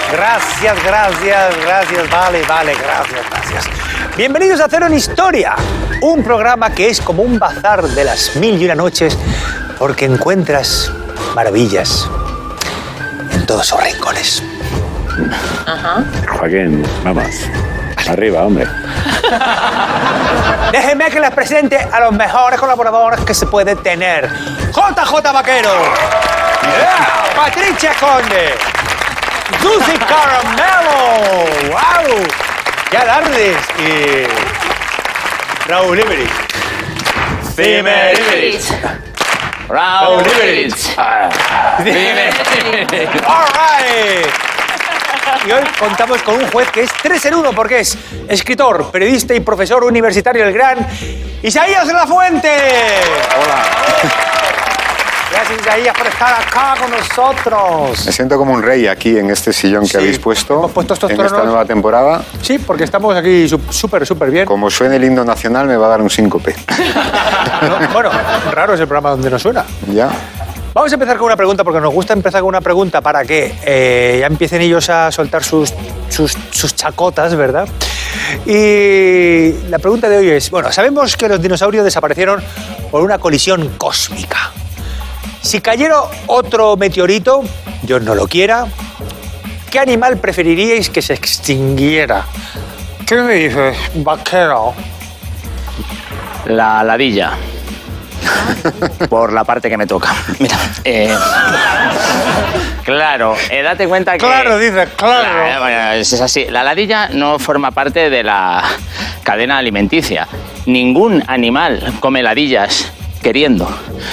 Gracias, vale, gracias. Bienvenidos a Cero en Historia, un programa que es como un bazar de las 1001 noches porque encuentras maravillas en todos sus rincones. Ajá. Joaquín, vamos. Arriba, hombre. Déjenme que les presente a los mejores colaboradores que se puede tener. JJ Vaquero, Patricia Conde, Susi Caramelo, wow, qué alardes, y Raúl Iberich. Raúl Iberich. All right. Y hoy contamos con un juez que es 3 en 1 porque es escritor, periodista y profesor universitario, el gran Isaías de la Fuente. Hola. Gracias, Isaías, por estar acá con nosotros. Me siento como un rey aquí en este sillón que habéis puesto, hemos puesto estos en tronos. esta nueva temporada. Sí, porque estamos aquí súper bien. Como suene el himno nacional me va a dar un síncope. No, bueno, raro es el programa donde no suena. ¿Ya? Vamos a empezar con una pregunta, porque nos gusta empezar con una pregunta para que ya empiecen ellos a soltar sus chacotas, ¿verdad? Y la pregunta de hoy es, bueno, sabemos que los dinosaurios desaparecieron por una colisión cósmica. Si cayera otro meteorito, Dios no lo quiera, ¿qué animal preferiríais que se extinguiera? ¿Qué me dices, Vaquero? La ladilla. Por la parte que me toca. Mira, claro, date cuenta que... Claro, dices, claro. Bueno, es así. La ladilla no forma parte de la cadena alimenticia. Ningún animal come ladillas queriendo.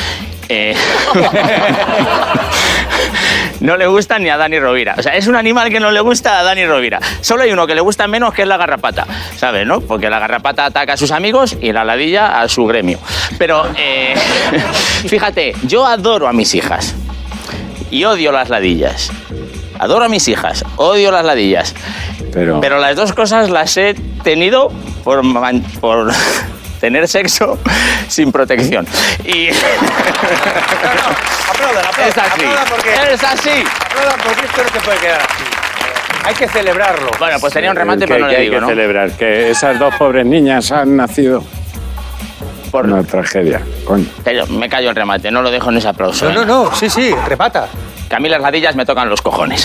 No le gusta ni a Dani Rovira. O sea, es un animal que no le gusta a Dani Rovira. Solo hay uno que le gusta menos, que es la garrapata. ¿Sabes, no? Porque la garrapata ataca a sus amigos y la ladilla a su gremio. Pero, fíjate, yo adoro a mis hijas y odio las ladillas. Adoro a mis hijas, odio las ladillas. Pero las dos cosas las he tenido por tener sexo sin protección. Y... Aplaudan. Es así. Es así. Aplaudan porque esto no se puede quedar así. Hay que celebrarlo. Bueno, pues tenía un remate, pero no le digo, hay que ¿no? celebrar que esas dos pobres niñas han nacido por una tragedia. Coño. Me callo el remate, no lo dejo en ese aplauso. No, sí, remata. Que a mí las ladillas me tocan los cojones.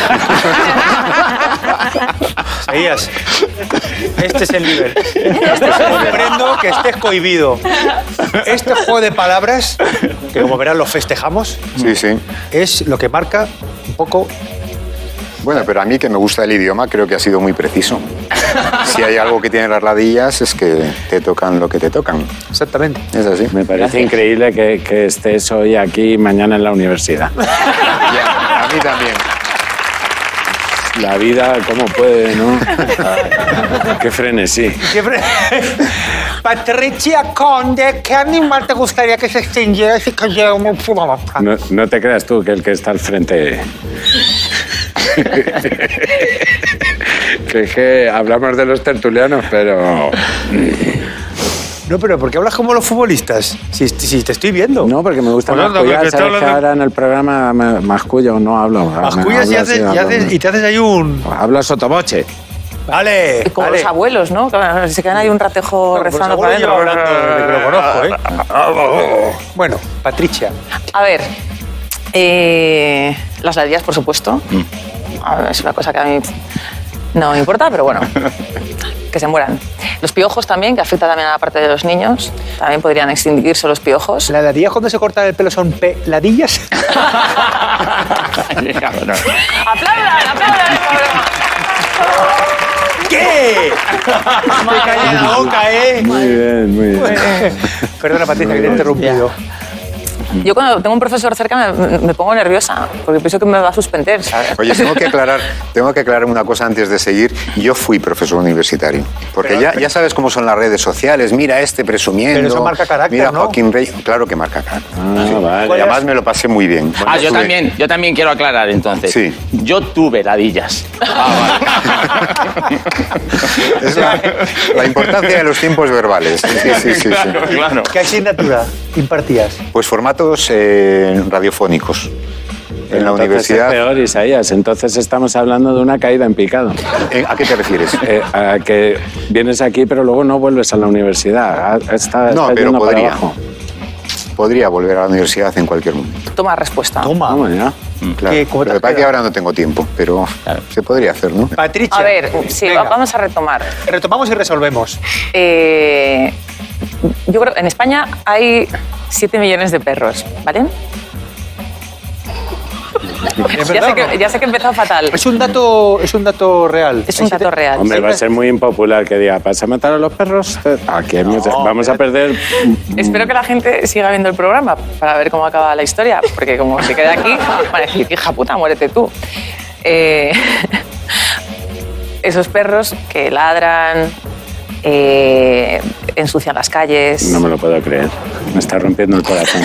Isaías, este es el nivel. Comprendo que estés cohibido. Este juego de palabras, que como verán lo festejamos, Sí. es lo que marca un poco... Bueno, pero a mí que me gusta el idioma creo que ha sido muy preciso. Si hay algo que tienen las ladillas es que te tocan lo que te tocan. Exactamente. Es así. Me parece increíble que estés hoy aquí y mañana en la universidad. A mí también. La vida, ¿cómo puede, no? Qué frenesí. Patricia Conde, ¿qué animal te gustaría que se extinguiera si cayera un... No te creas tú que el que está al frente... que es que hablamos de los tertulianos, pero... No, pero ¿por qué hablas como los futbolistas? Si te estoy viendo. No, porque me gusta mascullar. Sabes que ahora en el programa mascullo, no hablo. Mascullas y te haces ahí un... Hablo sotoboche. Vale. Como los abuelos, ¿no? Se quedan ahí un ratejo rezando para adentro. De que lo conozco, ¿eh? Bueno, Patricia. A ver, las ladillas, por supuesto. A ver, es una cosa que a mí no me importa, pero bueno, que se mueran. Los piojos también, que afecta también a la parte de los niños. También podrían extinguirse los piojos. ¿Las ladillas cuando se cortan el pelo son peladillas? ¡Aplaudan! ¿Qué? Me cae en la boca, ¿eh? Muy bien. Perdona, Patricia, que te he interrumpido. Yo cuando tengo un profesor cerca me pongo nerviosa, porque pienso que me va a suspender, ¿sabes? Oye, tengo que aclarar una cosa antes de seguir. Yo fui profesor universitario. Porque ya sabes cómo son las redes sociales. Mira este presumiendo. Pero eso marca carácter, mira, ¿no? Joaquín Rey. Claro que marca carácter. Vale. Y además me lo pasé muy bien. Yo también quiero aclarar entonces. Sí. Yo tuve ladillas. Es la importancia de los tiempos verbales. Sí. Claro. ¿Qué asignatura impartías? Pues formatos radiofónicos. En la Entonces universidad. es peor, Isaías. Entonces estamos hablando de una caída en picado. ¿A qué te refieres? A que vienes aquí, pero luego no vuelves a la universidad. Está No, pero yendo para podría. abajo. Podría volver a la universidad en cualquier momento. Toma respuesta. Toma. Vamos ya. Claro. ¿Cómo te Lo que pasa has es que ahora no tengo tiempo, pero se podría hacer, ¿no? Patricia. A ver, sí, venga, vamos a retomar. retomamos y resolvemos. Yo creo que en España hay 7 millones de perros, ¿vale? ¿Es verdad o no? Ya sé que he empezado fatal. Es un dato real. Es un dato real. Hombre, va a ser muy impopular que diga, ¿vas a matar a los perros? Aquí vamos a perder... Espero que la gente siga viendo el programa para ver cómo acaba la historia, porque como se quede aquí, van a decir, hija puta, muérete tú. Esos perros que ladran, ensucian las calles. No me lo puedo creer. Me está rompiendo el corazón.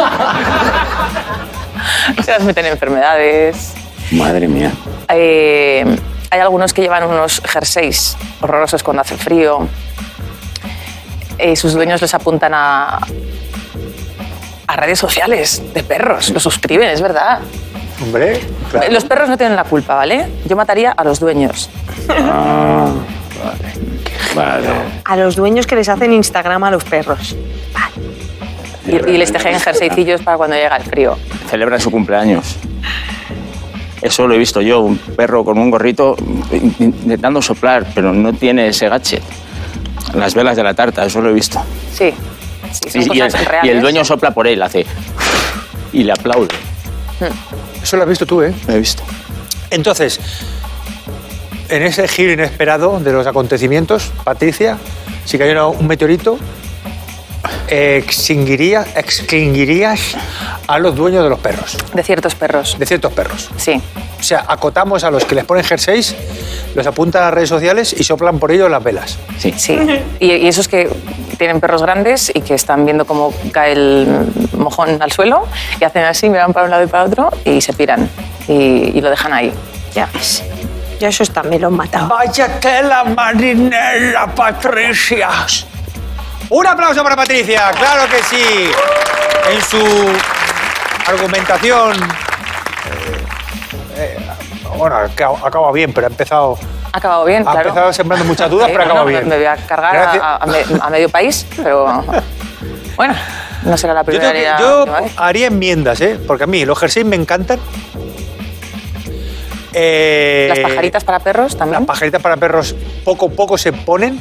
Se las meten enfermedades. Madre mía. Hay algunos que llevan unos jerseys horrorosos cuando hace frío. Sus dueños les apuntan a redes sociales de perros. Los suscriben, es verdad. Hombre, claro. Los perros no tienen la culpa, ¿vale? Yo mataría a los dueños. Ah, vale. A los dueños que les hacen Instagram a los perros. Y les tejen jerseycillos para cuando llega el frío. Celebran su cumpleaños. Eso lo he visto yo, un perro con un gorrito intentando soplar, pero no tiene ese gadget. Las velas de la tarta, eso lo he visto. Sí, son Y cosas reales. el dueño sopla por él, hace... Y le aplaude. Eso lo has visto tú, ¿eh? Lo he visto. Entonces, en ese giro inesperado de los acontecimientos, Patricia, si cayera un meteorito, extinguirías a los dueños de los perros, De ciertos perros. de ciertos perros. Sí. O sea, acotamos a los que les ponen jerseys, los apuntan a las redes sociales y soplan por ellos las velas. Sí. Sí. Y esos que tienen perros grandes y que están viendo cómo cae el mojón al suelo y hacen así, miran para un lado y para otro y se piran y lo dejan ahí. Ya ves. Ya eso también lo han matado. Vaya tela marinera, Patricia. Un aplauso para Patricia, claro que sí. En su argumentación, bueno, acaba bien, pero ha empezado Ha acabado bien, Ha claro. empezado sembrando muchas dudas, pero ha acabado bueno, bien. Me voy a cargar Gracias. a medio país, pero bueno, no será la Yo, primera tengo ni que- la yo última vez. haría enmiendas, ¿eh? Porque a mí los jerseys me encantan. Las pajaritas para perros también. Las pajaritas para perros poco se ponen.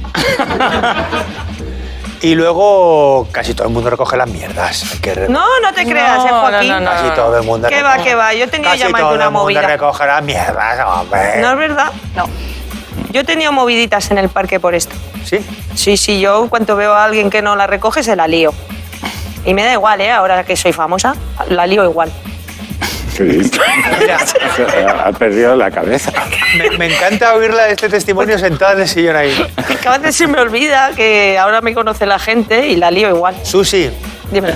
Y luego casi todo el mundo recoge las mierdas. Hay que No, no te creas, No, Joaquín. no, no, Casi todo el mundo ¿Qué va, recoge. qué va? Yo he tenido Casi ya más de todo una el mundo movida. recoge las mierdas, hombre. No es verdad. No. Yo he tenido moviditas en el parque por esto. ¿Sí? Sí, yo en cuanto veo a alguien que no la recoge, se la lío. Y me da igual, ¿eh? Ahora que soy famosa, la lío igual. ¿Qué dices? Mira, Ha perdido la cabeza. me encanta oírla este testimonio sentada en el sillón ahí. Que a veces se me olvida que ahora me conoce la gente y la lío igual. Susi, Dime.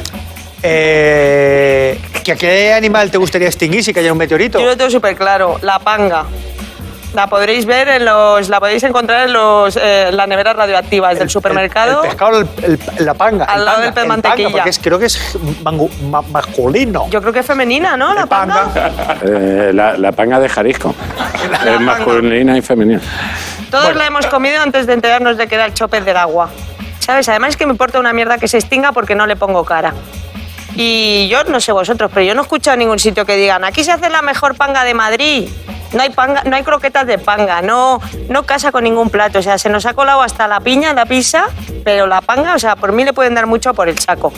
¿a qué animal te gustaría extinguir si cayera un meteorito? Yo lo tengo súper claro, la panga. La podréis ver la podéis encontrar en las neveras radioactivas del supermercado. El pescado, la panga. Al el lado panga, del pez el mantequilla. panga, porque creo que es masculino. Yo creo que es femenina, ¿no? La El panga. panga. La panga de Jalisco. Es masculina y femenina. Todos la hemos comido antes de enterarnos de que era el chopez del agua. ¿Sabes? Además es que me importa una mierda que se extinga porque no le pongo cara. Y yo no sé vosotros, pero yo no he escuchado en ningún sitio que digan aquí se hace la mejor panga de Madrid. No hay panga, no hay croquetas de panga, no casa con ningún plato. O sea, se nos ha colado hasta la piña, la pizza, pero la panga, o sea, por mí le pueden dar mucho por el saco.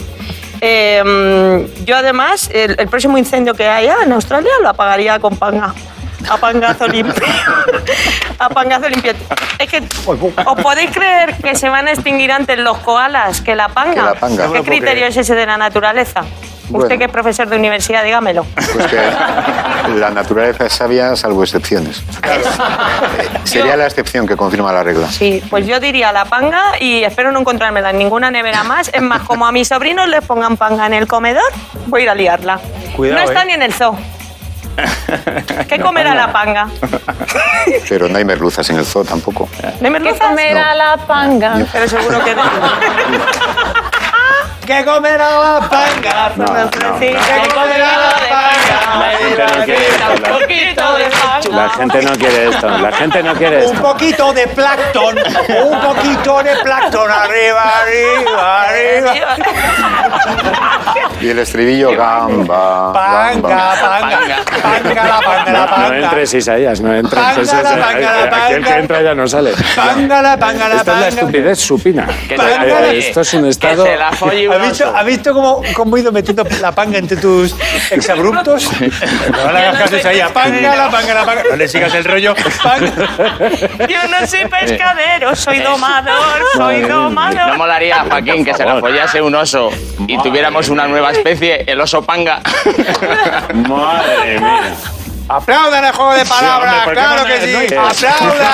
Yo además, el próximo incendio que haya en Australia lo apagaría con panga. A pangazo limpio. A pangazo limpio. Es que, ¿os podéis creer que se van a extinguir antes los koalas que la panga? Que la panga. No ¿Qué lo puedo criterio creer. es ese de la naturaleza? Bueno. Usted que es profesor de universidad, dígamelo. Pues que la naturaleza es sabia salvo excepciones. Sería la excepción que confirma la regla. Sí, pues yo diría la panga y espero no encontrármela en ninguna nevera más. Es más, como a mis sobrinos les pongan panga en el comedor, voy a ir a liarla. Cuidado, no está ¿eh? ni en el zoo. ¿Qué comerá la panga? Pero no hay merluzas en el zoo tampoco. ¿No hay ¿Qué merluzas? comerá la panga? Pero seguro que no. ¿Qué comerá la panga? No, no, Sí, ¿Qué comerá la panga? Un poquito de panga. La gente no quiere esto. La gente no quiere Un esto. poquito de plancton. Un poquito de plancton. Arriba, arriba, arriba. Y el estribillo, gamba, Panga, gamba. panga. Panga, la panga, la No panga. entres, Isaías, no entres. Panga, Eso es- la panga, la Aquí el que panga. entra ya no sale. Panga, la panga, la Esta es la panga. estupidez supina. Que Panga. se la folle. Esto es un estado... Que se la folle un oso. ¿Has visto cómo he ido metiendo la panga entre tus exabruptos? No le hagas caso a ella. Panga, la panga, la panga. No le sigas el rollo. Panga. Yo no soy pescadero, soy domador, soy ¿No domador. molaría, Joaquín, que se la follase un oso y tuviéramos una nueva especie, el oso panga? Madre mía. Aplaudan el juego de palabras, hombre, ¿por qué claro no que me- sí. no? Aplaudan.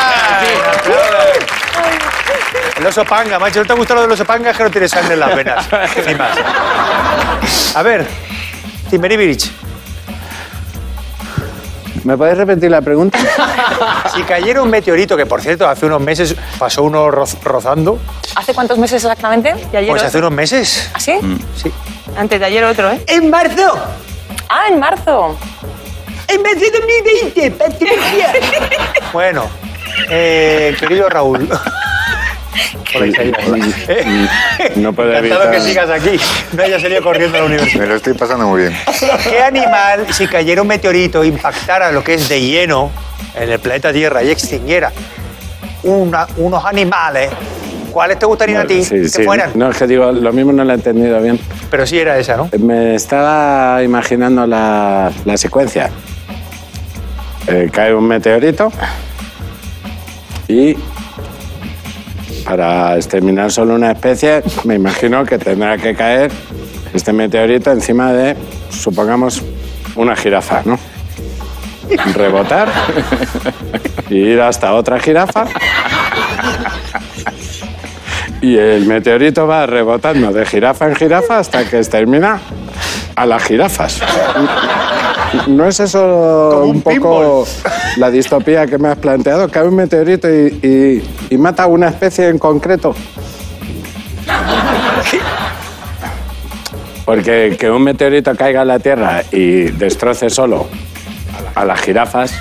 El oso panga, macho. ¿No te gusta lo del oso panga? Es que no tienes sangre en las venas. Ni más. A ver, Timberibirich, ¿Me puedes repetir la pregunta? si cayera un meteorito, que por cierto hace unos meses pasó uno rozando, ¿Hace cuántos meses exactamente? Y ayer pues hace otro. unos meses, ¿Así? sí. Antes de ayer otro, ¿eh? En marzo, Ah, en marzo. en marzo de 2020, Patricia. Bueno, querido Raúl. Hola, Isaías. No puedo Encantado evitar... que sigas aquí, no hayas salido corriendo a la universidad. Me lo estoy pasando muy bien. ¿Qué animal, si cayera un meteorito, impactara lo que es de lleno en el planeta Tierra y extinguiera unos animales, cuáles te gustarían a ti Sí, que sí. fueran? No, es que digo, lo mismo no lo he entendido bien. Pero sí era esa, ¿no? Me estaba imaginando la secuencia. Cae un meteorito y para exterminar solo una especie, me imagino que tendrá que caer este meteorito encima de, supongamos, una jirafa, ¿no? Rebotar y ir hasta otra jirafa. Y el meteorito va rebotando de jirafa en jirafa hasta que extermina a las jirafas. ¿No es eso Como un un poco la distopía que me has planteado? Cae un meteorito y mata a una especie en concreto. Porque que un meteorito caiga a la Tierra y destroce solo a las jirafas...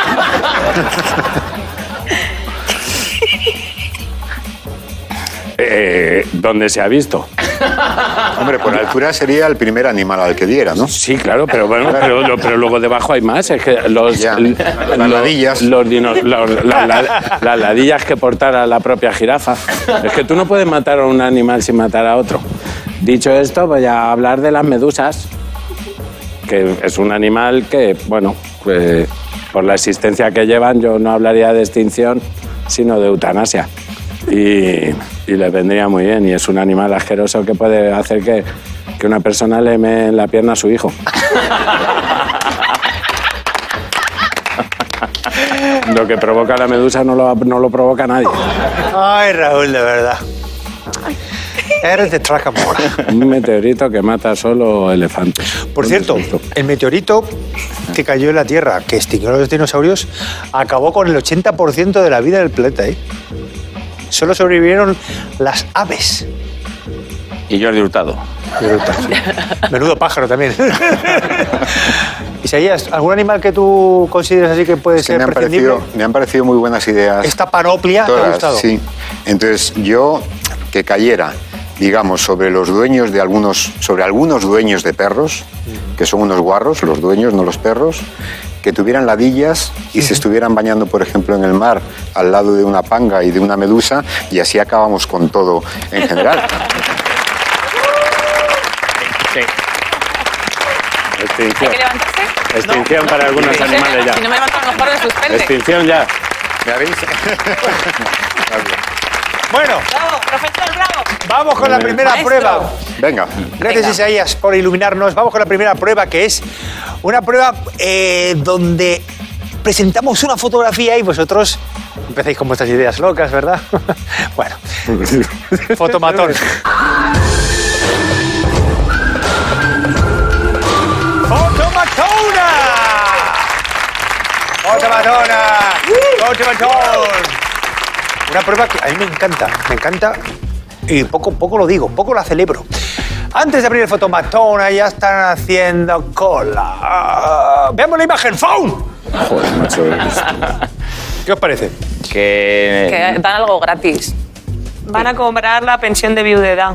¿dónde se ha visto? Hombre, por altura sería el primer animal al que diera, ¿no? Sí, claro, pero bueno, pero luego debajo hay más. Es que Ya, las ladillas. Las ladillas que portara la propia jirafa. Es que tú no puedes matar a un animal sin matar a otro. Dicho esto, voy a hablar de las medusas, que es un animal que, bueno, pues, por la existencia que llevan, yo no hablaría de extinción, sino de eutanasia. Y les vendría muy bien. Y es un animal asqueroso que puede hacer que una persona le mee en la pierna a su hijo. Lo que provoca la medusa no lo provoca nadie. Ay, Raúl, de verdad. Eres de Tracamora. Un meteorito que mata solo elefantes. Por cierto, el meteorito que cayó en la Tierra, que extinguió a los dinosaurios, acabó con el 80% de la vida del planeta, ¿eh? Solo sobrevivieron las aves. Y Jordi Hurtado. Menudo pájaro también. Isaías, ¿algún animal que tú consideres así que puede Es que ser prescindible? me han parecido muy buenas ideas. Esta panoplia te ha Todas, gustado. sí. Entonces, yo que cayera, digamos, sobre los dueños de sobre algunos dueños de perros, que son unos guarros, los dueños, no los perros, que tuvieran ladillas y se estuvieran bañando, por ejemplo, en el mar, al lado de una panga y de una medusa, y así acabamos con todo en general. Sí. ¿Hay Extinción. que levantarse? Extinción para algunos animales Si no ya. me levanto, a lo mejor me suspende. Extinción ya. ¿Me habéis? Bueno, Bravo, profesor, bravo. vamos con la primera Maestro. prueba. Venga. Gracias, Venga. Isaías, por iluminarnos. Vamos con la primera prueba, que es una prueba donde presentamos una fotografía y vosotros empezáis con vuestras ideas locas, ¿verdad? Bueno, fotomatón. ¡Fotomatona! ¡Fotomatona! ¡Fotomatón! Una prueba que a mí me encanta y poco lo digo, poco la celebro. Antes de abrir el fotomatón, ya están haciendo cola. Veamos la imagen. ¡Faun! Joder, macho. ¿Qué os parece? Que dan algo gratis. Van a cobrar la pensión de viudedad.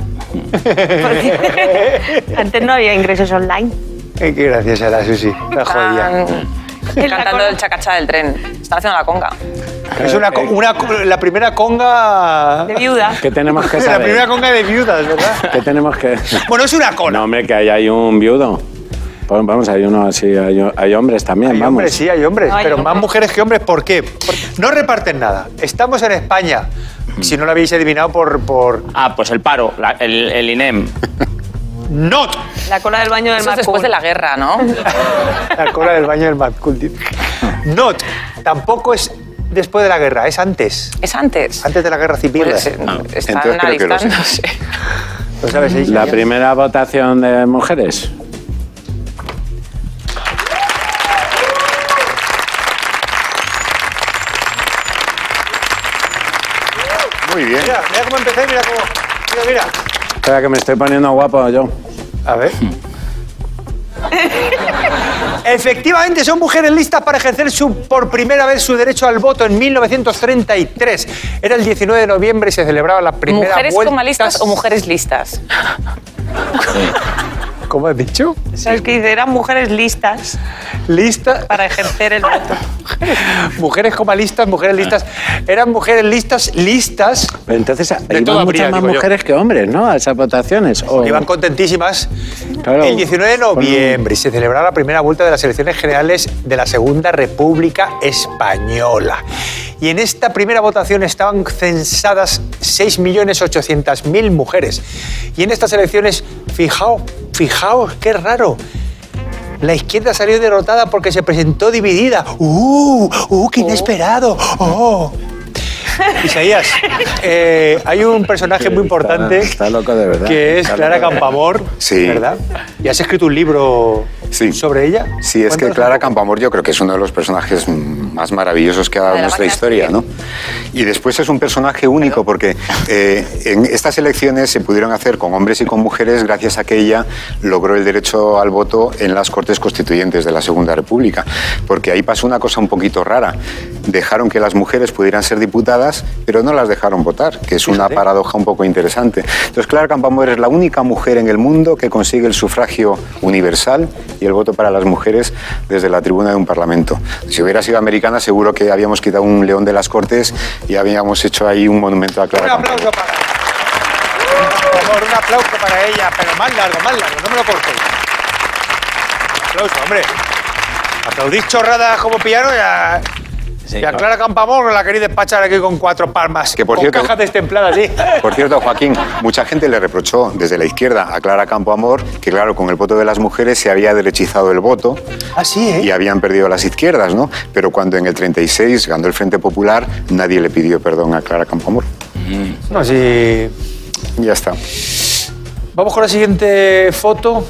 Porque antes no había ingresos online. Qué gracias a la Susi. La jodía. Están cantando el chacachá del tren. Están haciendo la conga. Es la primera conga... De viuda. ¿Qué tenemos que La saber? primera conga de viudas, ¿verdad? ¿Qué tenemos que...? Bueno, es una cola. No, hombre, que hay un viudo. Pues vamos, hay uno así, hay hombres también, Hay vamos. hombres, sí, hay hombres, No, hay pero hombres. más mujeres que hombres. ¿Por qué? No reparten nada. Estamos en España. Si no lo habéis adivinado por... Ah, pues el paro, el INEM. ¡Not! La cola del baño del Eso es después de la guerra, ¿no? La cola del baño del Mad Cool, tío. Not. Tampoco es después de la guerra, es antes. Es antes. Antes de la guerra civil. Pues, Entonces están creo que lo sé. alistándose. ¿Lo sabes, Isa? La primera votación de mujeres. Muy bien. Mira, mira cómo empecé, mira cómo... Mira. Espera, que me estoy poniendo guapo yo. A ver. Efectivamente, son mujeres listas para ejercer por primera vez su derecho al voto en 1933. Era el 19 de noviembre y se celebraba la primera ¿Mujeres vuelta... comalistas o mujeres listas? ¿Cómo has dicho? ¿Sabes qué dice? Eran mujeres listas Listas... para ejercer el voto. Mujeres comalistas, mujeres listas. Eran mujeres listas... Pero entonces todo iban habría, muchas más digo yo. mujeres que hombres, ¿no? A esas votaciones. O... Iban contentísimas. Claro. El 19 de noviembre y se celebraba la primera vuelta de las elecciones generales de la Segunda República Española. Y en esta primera votación estaban censadas 6.800.000 mujeres. Y en estas elecciones, fijaos, qué raro. La izquierda salió derrotada porque se presentó dividida. ¡Qué inesperado! ¡Oh! Isaías, hay un personaje muy importante Está loco de verdad. que es Está Clara loco de verdad. Campoamor, Sí. ¿verdad? ¿Y has escrito un libro Sí. sobre ella? Sí, es que Cuéntanos Clara un poco. Campoamor yo creo que es uno de los personajes más maravillosos que ha dado De la nuestra máquina historia, ¿no? Y después es un personaje único porque en estas elecciones se pudieron hacer con hombres y con mujeres gracias a que ella logró el derecho al voto en las Cortes Constituyentes de la Segunda República. Porque ahí pasó una cosa un poquito rara. Dejaron que las mujeres pudieran ser diputadas, pero no las dejaron votar, que es una Fíjate. paradoja un poco interesante. Entonces, Clara Campoamor es la única mujer en el mundo que consigue el sufragio universal y el voto para las mujeres desde la tribuna de un parlamento. Si hubiera sido americana, seguro que habíamos quitado un león de las Cortes y habíamos hecho ahí un monumento a Un Clara Campoamor. aplauso para... Por favor, un aplauso para ella, pero más largo, no me lo cortéis. Aplauso, hombre. Aplaudís chorradas como piano y a Clara Campoamor la queréis despachar aquí con 4 palmas. Que, por con cierto- cajas destempladas, sí. Por cierto, Joaquín, mucha gente le reprochó desde la izquierda a Clara Campoamor que, claro, con el voto de las mujeres se había derechizado el voto Así, ¿eh? y habían perdido las izquierdas, ¿no? Pero cuando en el 36 ganó el Frente Popular, nadie le pidió perdón a Clara Campoamor. No, sí. Ya está. Vamos con la siguiente foto.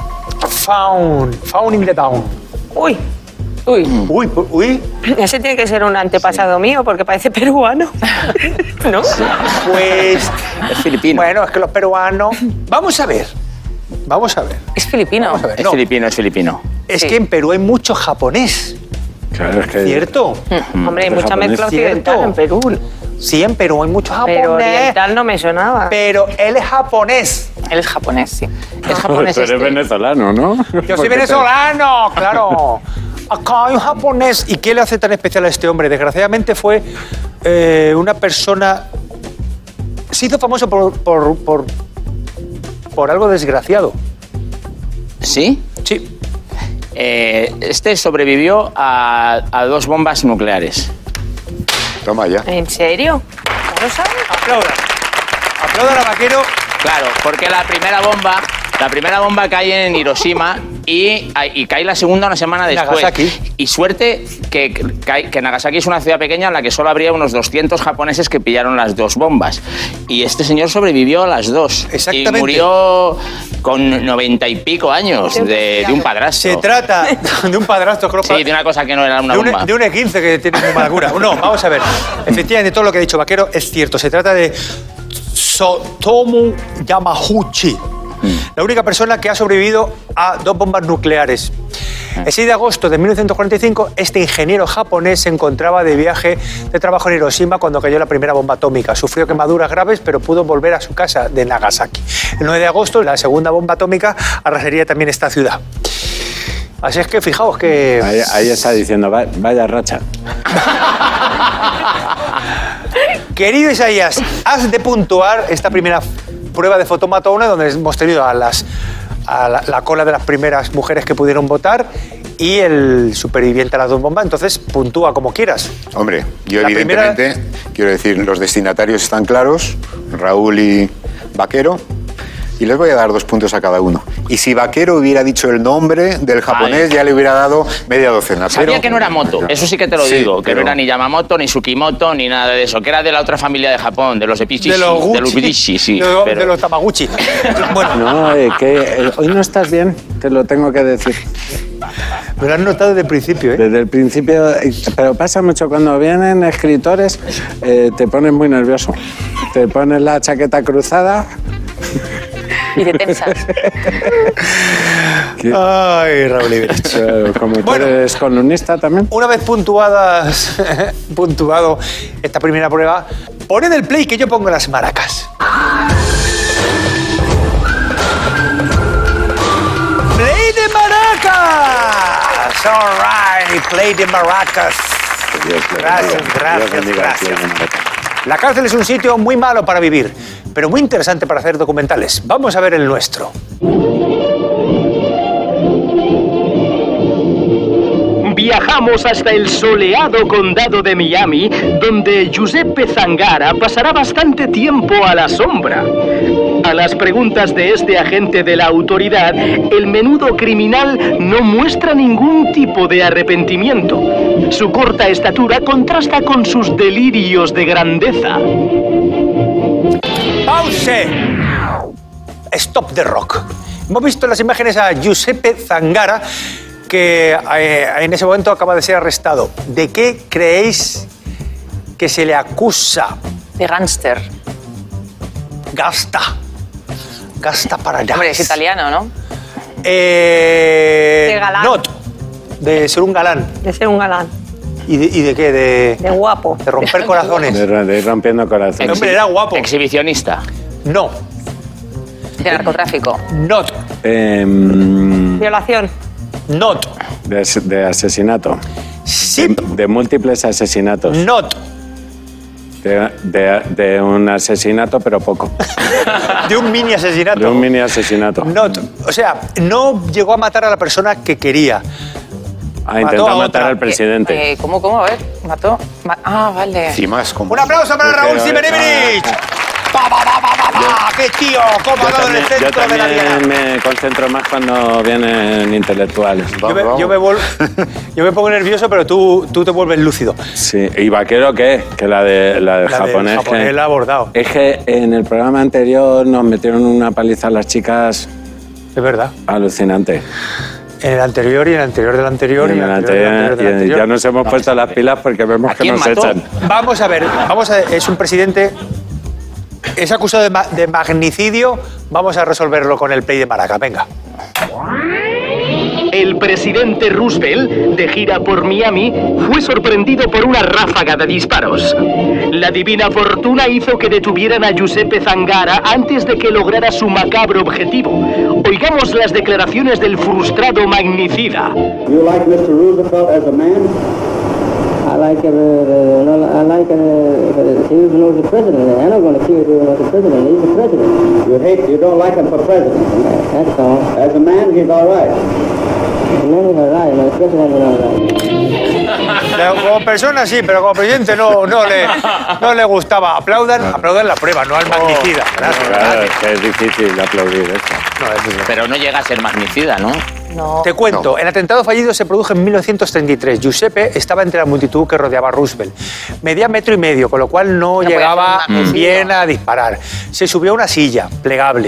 Found in the town. Uy, Uy. ese tiene que ser un antepasado mío porque parece peruano. ¿No? Pues... Es filipino. Bueno, es que los peruanos... Vamos a ver. Es filipino. Vamos a ver. Es No, filipino, es filipino. es Sí. que en Perú hay mucho japonés, Claro, es que... ¿cierto? Hombre, hay Los mucha mezcla japoneses. occidental en Perú. Sí, en Perú hay mucho Pero japonés. oriental no me sonaba. Pero él es japonés. Él es japonés, sí. Es japonés Tú eres este. venezolano, ¿no? Yo soy venezolano, claro. Acá hay un japonés. ¿Y qué le hace tan especial a este hombre? Desgraciadamente fue una persona... Se hizo famoso por algo desgraciado. ¿Sí? Sí. Este sobrevivió a 2 bombas nucleares. Toma ya. ¿En serio? ¿No lo sabes? Aplaudan. Aplaudan a Vaquero. Claro, porque la primera bomba cae en Hiroshima y cae la segunda una semana después. Nagasaki. Y suerte que Nagasaki es una ciudad pequeña en la que solo habría unos 200 japoneses que pillaron las 2 bombas. Y este señor sobrevivió a las 2. Exactamente. Y murió con 90 y pico años de un padrastro. Se trata de un padrastro, creo. Sí, de una cosa que no era una de un bomba. E15 que tiene muy mala cura. No, vamos a ver. Efectivamente, todo lo que ha dicho Vaquero es cierto. Se trata de Tsutomu Yamaguchi. La única persona que ha sobrevivido a 2 bombas nucleares. El 6 de agosto de 1945, este ingeniero japonés se encontraba de viaje de trabajo en Hiroshima cuando cayó la primera bomba atómica. Sufrió quemaduras graves, pero pudo volver a su casa de Nagasaki. El 9 de agosto, la segunda bomba atómica arrasaría también esta ciudad. Así es que fijaos que... Ahí está diciendo, vaya racha. Querido Isaías, has de puntuar esta primera prueba de fotomatona donde hemos tenido a la cola de las primeras mujeres que pudieron votar y el superviviente a las 2 bombas. Entonces, puntúa como quieras. Hombre, yo La evidentemente, quiero decir, los destinatarios están claros, Raúl y Vaquero, y les voy a dar 2 puntos a cada uno. Y si Vaquero hubiera dicho el nombre del japonés, ya le hubiera dado media docena. Sabía que no era Moto, eso sí que te lo digo, que no era ni Yamamoto, ni Tsukimoto, ni nada de eso, que era de la otra familia de Japón, de los Epichishi, De los Gucci, de los Bidishi, sí. de los Tamaguchi. Bueno, No, hoy no estás bien, te lo tengo que decir. me lo has notado desde el principio, ¿eh? Desde el principio, pero pasa mucho cuando vienen escritores, te pones muy nervioso. Te pones la chaqueta cruzada. Y te tensas. Ay, Raúl Iberich. Como tú Bueno. eres columnista también. Una vez puntuado esta primera prueba, poned el play que yo pongo las maracas. ¡Play de maracas! All right, play de maracas. Gracias. La cárcel es un sitio muy malo para vivir, pero muy interesante para hacer documentales. Vamos a ver el nuestro. Viajamos hasta el soleado condado de Miami, donde Giuseppe Zangara pasará bastante tiempo a la sombra. A las preguntas de este agente de la autoridad, el menudo criminal no muestra ningún tipo de arrepentimiento. Su corta estatura contrasta con sus delirios de grandeza. ¡Pause! Stop the rock. Hemos visto en las imágenes a Giuseppe Zangara, que en ese momento acaba de ser arrestado. ¿De qué creéis que se le acusa? De gánster. Gasta para allá. Hombre, es italiano, ¿no? De galán. Not. De ser un galán. De ser un galán. ¿Y de qué? De guapo. De romper corazones. De ir rompiendo corazones. Hombre, era guapo. Exhibicionista. No. De narcotráfico. Not. Violación. Not. De asesinato. Sí. De múltiples asesinatos. Not. De un asesinato, pero poco. De un mini asesinato. De un mini asesinato. Not. O sea, no llegó a matar a la persona que quería. Ha intentado a matar otra. al presidente. ¿Cómo? A ver, mató. Vale. Y más, como... Un aplauso para Raúl Pero, Simerevic. ¡Qué tío! ¿Cómo ha dado en el Yo centro de la diana? también me concentro más cuando vienen intelectuales. Yo me pongo nervioso, pero tú te vuelves lúcido. Sí, ¿y Vaquero qué? Que la del japonés. japonés la ha abordado. Es que en el programa anterior nos metieron una paliza a las chicas Es verdad. alucinante. En el anterior y en el anterior del anterior. Y en el anterior, del y anterior. ya nos hemos puesto las pilas porque vemos ¿A que quién nos mató? echan. Vamos a ver, es un presidente, es acusado de magnicidio, vamos a resolverlo con el play de Maraca, venga. El presidente Roosevelt, de gira por Miami, fue sorprendido por una ráfaga de disparos. La divina fortuna hizo que detuvieran a Giuseppe Zangara antes de que lograra su macabro objetivo. Oigamos las declaraciones del frustrado magnicida. You like Mr. Roosevelt as a man? I like he was the president. I'm not going to kill him as a president. He's the president. You don't like him for president? That's all. As a man, he's all right. As a man, he's all right. As a president, he's all right. Como persona sí, pero como presidente no le gustaba. Aplaudan la prueba, no al magnicida. Gracias. Claro, es que es difícil aplaudir esto. Pero no llega a ser magnicida, ¿no? No. Te cuento, el atentado fallido se produjo en 1933. Giuseppe estaba entre la multitud que rodeaba a Roosevelt. Medía 1,5 metros, con lo cual no podía llegaba hacer un magnicidio. bien a disparar. Se subió a una silla plegable.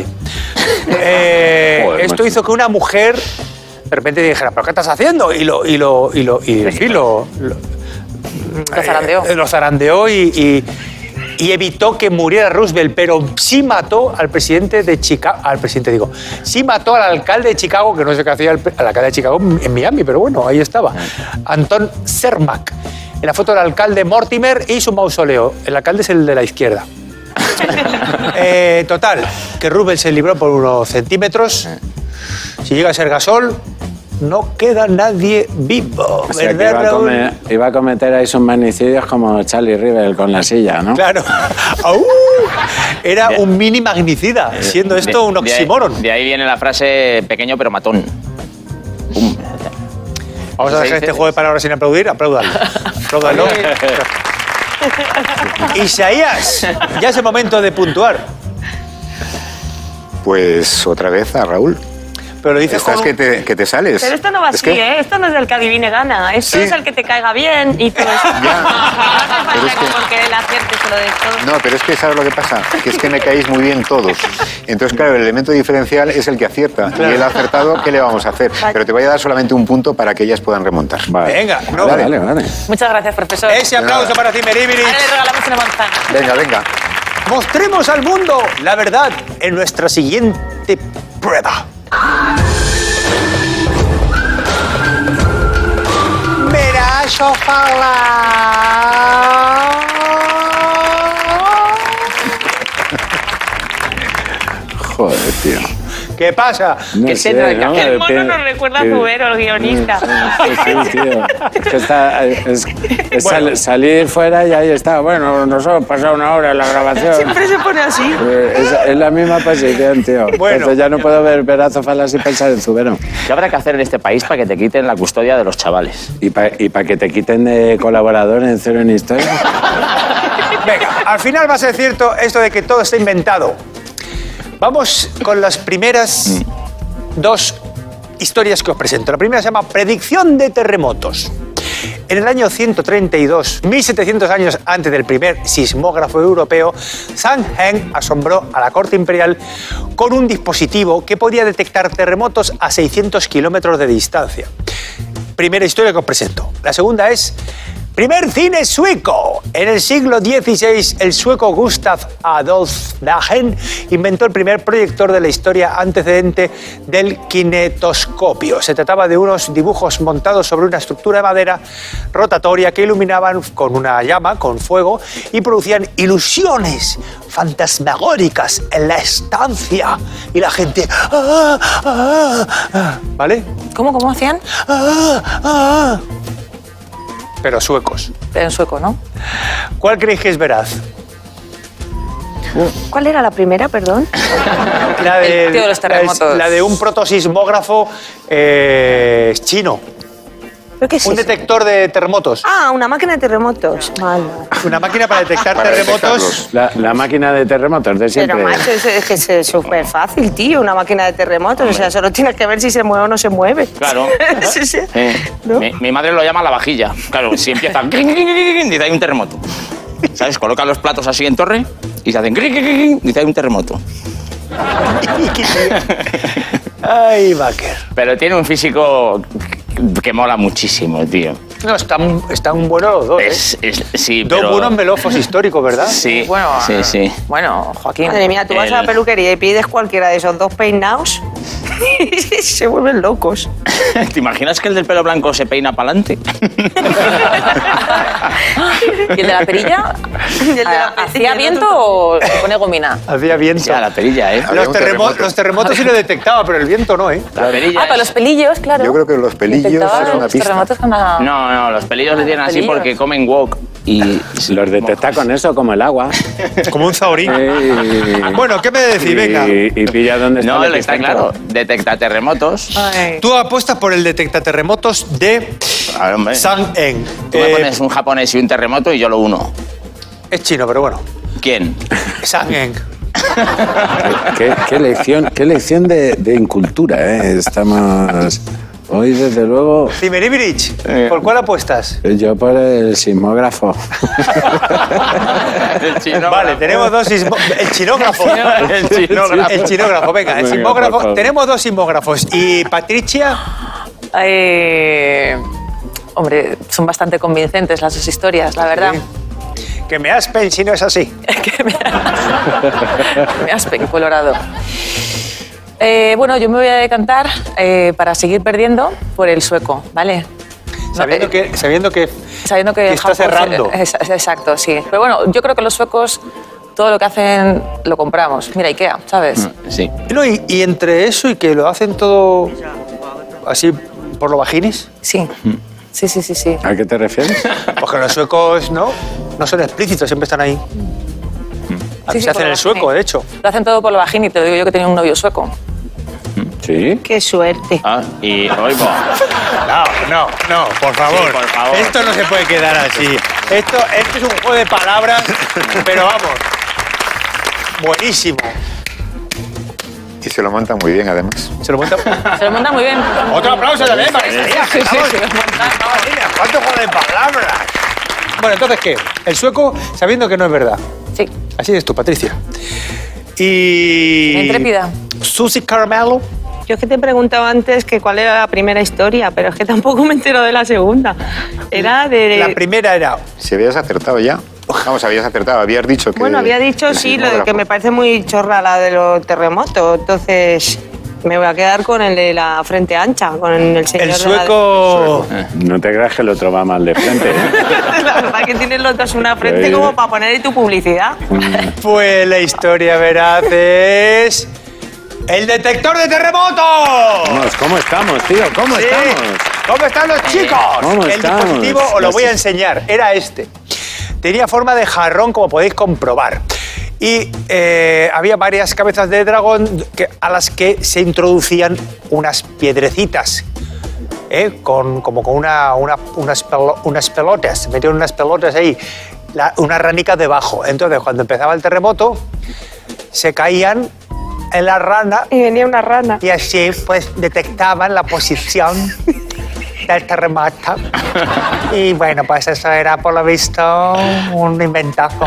Esto macho. hizo que una mujer de repente dijera, ¿pero qué estás haciendo? Lo zarandeó. Lo zarandeó y y evitó que muriera Roosevelt, pero sí mató al presidente de Chicago, sí mató al alcalde de Chicago, que no sé qué hacía el alcalde de Chicago en Miami, pero bueno, ahí estaba, Anton Cermak. En la foto del alcalde Mortimer y su mausoleo. El alcalde es el de la izquierda. Total, que Roosevelt se libró por unos centímetros. Si llega a ser Gasol, no queda nadie vivo. O sea, ¿Verdad, que Raúl? iba a cometer ahí sus magnicidios como Charlie Rivel con la silla, ¿no? Claro. Era un mini magnicida, siendo esto un oxímoron. De ahí viene la frase pequeño pero matón. Pum. Vamos a dejar este juego de palabras sin aplaudir. Apláudalo. Apláudalo. Isaías, ya es el momento de puntuar. Pues otra vez a Raúl. Pero lo dices Estás con que te sales. Pero esto no va Es así, que- ¿eh? Esto no es el que adivine gana. Esto Sí. es el que te caiga bien y todo eso. Ya. No hace Pero falta es que- porque él acierte se lo des todo. No, pero es que ¿sabes lo que pasa? Que es que me caéis muy bien todos. Entonces, claro, el elemento diferencial es el que acierta. Y él ha acertado, ¿qué le vamos a hacer? Pero te voy a dar solamente un punto para que ellas puedan remontar. Vale. Venga, no, Vale. Muchas gracias, profesor. ese aplauso para ti, Meribirich. Ahora le regalamos una manzana. Venga, venga. Mostremos al mundo la verdad en nuestra siguiente prueba. Verás, ojalá. Joder, tío. ¿Qué pasa? No ¿Qué sé, tendrá que ¿no? hacer? El mono nos recuerda a Zubero, el guionista. Sí, tío. Es que está, es salir fuera y ahí está. Bueno, nos hemos pasado una hora en la grabación. Siempre se pone así. Es la misma posición, tío. Bueno. Entonces ya no puedo ver Verazo Falas y pensar en Zubero. ¿Qué habrá que hacer en este país para que te quiten la custodia de los chavales? Y para que te quiten de colaborador en Cero en Historia. Venga, al final va a ser cierto esto de que todo está inventado. Vamos con las primeras dos historias que os presento. La primera se llama Predicción de terremotos. En el año 132, 1700 años antes del primer sismógrafo europeo, Zhang Heng asombró a la corte imperial con un dispositivo que podía detectar terremotos a 600 kilómetros de distancia. Primera historia que os presento. La segunda es primer cine sueco. En el siglo XVI, el sueco Gustav Adolf Dagen inventó el primer proyector de la historia antecedente del kinetoscopio. Se trataba de unos dibujos montados sobre una estructura de madera rotatoria que iluminaban con una llama, con fuego, y producían ilusiones fantasmagóricas en la estancia. Y la gente... "Ah, ah, ah", ¿vale? ¿Cómo hacían? "Ah, ah". Pero suecos. Pero en sueco, ¿no? ¿Cuál creéis que es veraz? ¿Cuál era la primera, perdón? La El tío de los terremotos. la de un protosismógrafo chino. ¿Pero qué es Un eso? detector de terremotos. Ah, una máquina de terremotos. Vale. Una máquina para detectar Para terremotos. La máquina de terremotos de siempre. Pero macho, es que es súper fácil, tío, una máquina de terremotos. O sea, solo tienes que ver si se mueve o no se mueve. Claro. Sí, sí. ¿No? Mi madre lo llama la vajilla. Claro, si empieza... dice, hay un terremoto. ¿Sabes? Colocan los platos así en torre y se hacen... dice, hay un terremoto. Ay, Baker. Pero tiene un físico que mola muchísimo, tío. No, están buenos los dos. Sí, Dos pero... buenos melofos históricos, ¿verdad? Sí, Bueno, sí. Bueno, Joaquín. Madre mía, tú vas a la peluquería y pides cualquiera de esos dos peinados y se vuelven locos. ¿Te imaginas que el del pelo blanco se peina para adelante? ¿Y el de la perilla? Y el de la ¿Hacía perilla, viento o se pone gomina? Hacía viento. Sí, a la perilla, ¿eh? Había un terremoto. Los terremotos sí lo detectaba, pero el viento no, ¿eh? La perilla. Ah, pero los pelillos, claro. Yo creo que los pelillos Detectaban es una los pista. terremotos con la... No, los pelillos le tienen así Pelillos. porque comen wok y... Los detecta con eso, como el agua. Como un zaurín. Y- Bueno, ¿qué me decís? Venga. Y pilla dónde está No, el está epicentro. claro. Detecta terremotos. Ay. Tú apuestas por el detectaterremotos de A ver, hombre. Zhang Heng. Tú me pones un japonés y un terremoto y yo lo uno. Es chino, pero bueno. ¿Quién? Zhang Heng. Qué lección de incultura, ¿eh? Estamos... Hoy, desde luego, Cimeribirich, ¿por cuál apuestas? yo por el sismógrafo. El chino. Vale, tenemos dos el chinógrafo. El chinógrafo. El chinógrafo, venga, el Venga, sismógrafo. por favor. Tenemos dos sismógrafos. Y Patricia, Hombre, son bastante convincentes las dos historias, la verdad. Que me aspen si no es así. Me aspen, colorado. Bueno, yo me voy a decantar para seguir perdiendo por el sueco, ¿vale? Sabiendo que está Japón cerrando. Exacto, sí. Pero bueno, yo creo que los suecos todo lo que hacen lo compramos. Mira, Ikea, ¿sabes? Sí. No, y entre eso y que lo hacen todo así por lo vaginis. Sí. Sí. ¿A qué te refieres? Porque los suecos no son explícitos, siempre están ahí. Sí, Se hacen por el sueco, vagini. de hecho. Lo hacen todo por lo vagini, te lo digo yo que tenía un novio sueco. ¿Sí? Qué suerte. Ah, y oigo. No, por favor. Sí, por favor. Esto no se puede quedar así. Esto es un juego de palabras, pero vamos, buenísimo. Y se lo montan muy bien, además. Se lo monta. Se lo montan muy bien. Otro aplauso también para Sí, Isaías. sí, Estamos- se lo montan. ¿Cuánto juego de palabras? Bueno, entonces, ¿qué? El sueco, sabiendo que no es verdad. Sí. Así eres tú, Patricia. Y... Intrépida. Susie Caramelo. Yo es que te he preguntado antes que cuál era la primera historia, pero es que tampoco me entero de la segunda. Era de... La primera era... Si habías acertado ya. Vamos, habías acertado, habías dicho que... Bueno, había dicho sí, lo de que me parece muy chorra la de los terremotos. Entonces me voy a quedar con el de la frente ancha, con el señor El de sueco... No te creas que el otro va mal de frente. La verdad que tienes los dos una frente Sí. como para poner ahí tu publicidad. Pues la historia veraz es... ¡El detector de terremotos! ¿Cómo estamos, tío? ¿Cómo Sí. estamos? ¿Cómo están los chicos? ¿Cómo El estamos? dispositivo os lo voy a enseñar. Era este. Tenía forma de jarrón, como podéis comprobar. Y había varias cabezas de dragón a las que se introducían unas piedrecitas. Como con unas pelotas. Se metían unas pelotas ahí. Unas ranicas debajo. Entonces, cuando empezaba el terremoto, se caían en la rana. Y venía una rana. Y así, pues, detectaban la posición del terremoto. Y bueno, pues eso era, por lo visto, un inventazo.